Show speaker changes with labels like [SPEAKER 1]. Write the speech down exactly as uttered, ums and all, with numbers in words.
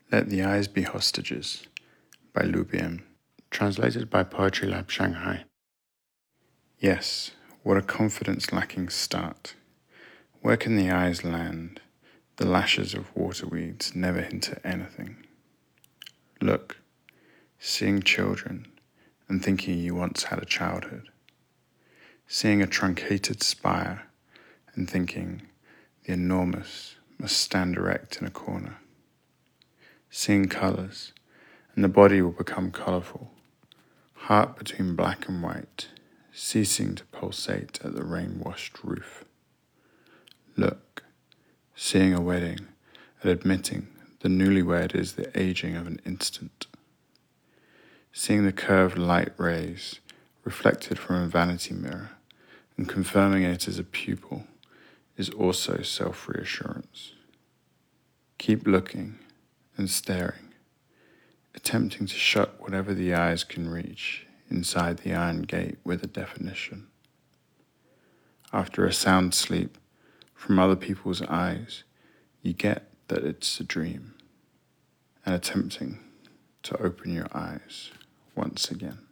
[SPEAKER 1] Let the Eyes Be Hostages by Lu Biem. Translated by Poetry Lab Shanghai. Yes, what a confidence-lacking start. Where can the eyes land? The lashes of waterweeds never hint at anything. Look, seeing children and thinking you once had a childhood. Seeing a truncated spire and thinking the enormous must stand erect in a corner. Seeing colours, and the body will become colourful, heart between black and white, ceasing to pulsate at the rain-washed roof. Look, seeing a wedding, and admitting the newlywed is the aging of an instant. Seeing the curved light rays reflected from a vanity mirror and confirming it as a pupil is also self-reassurance. Keep looking and staring, attempting to shut whatever the eyes can reach inside the iron gate with a definition. After a sound sleep from other people's eyes, you get that it's a dream, and attempting to open your eyes once again.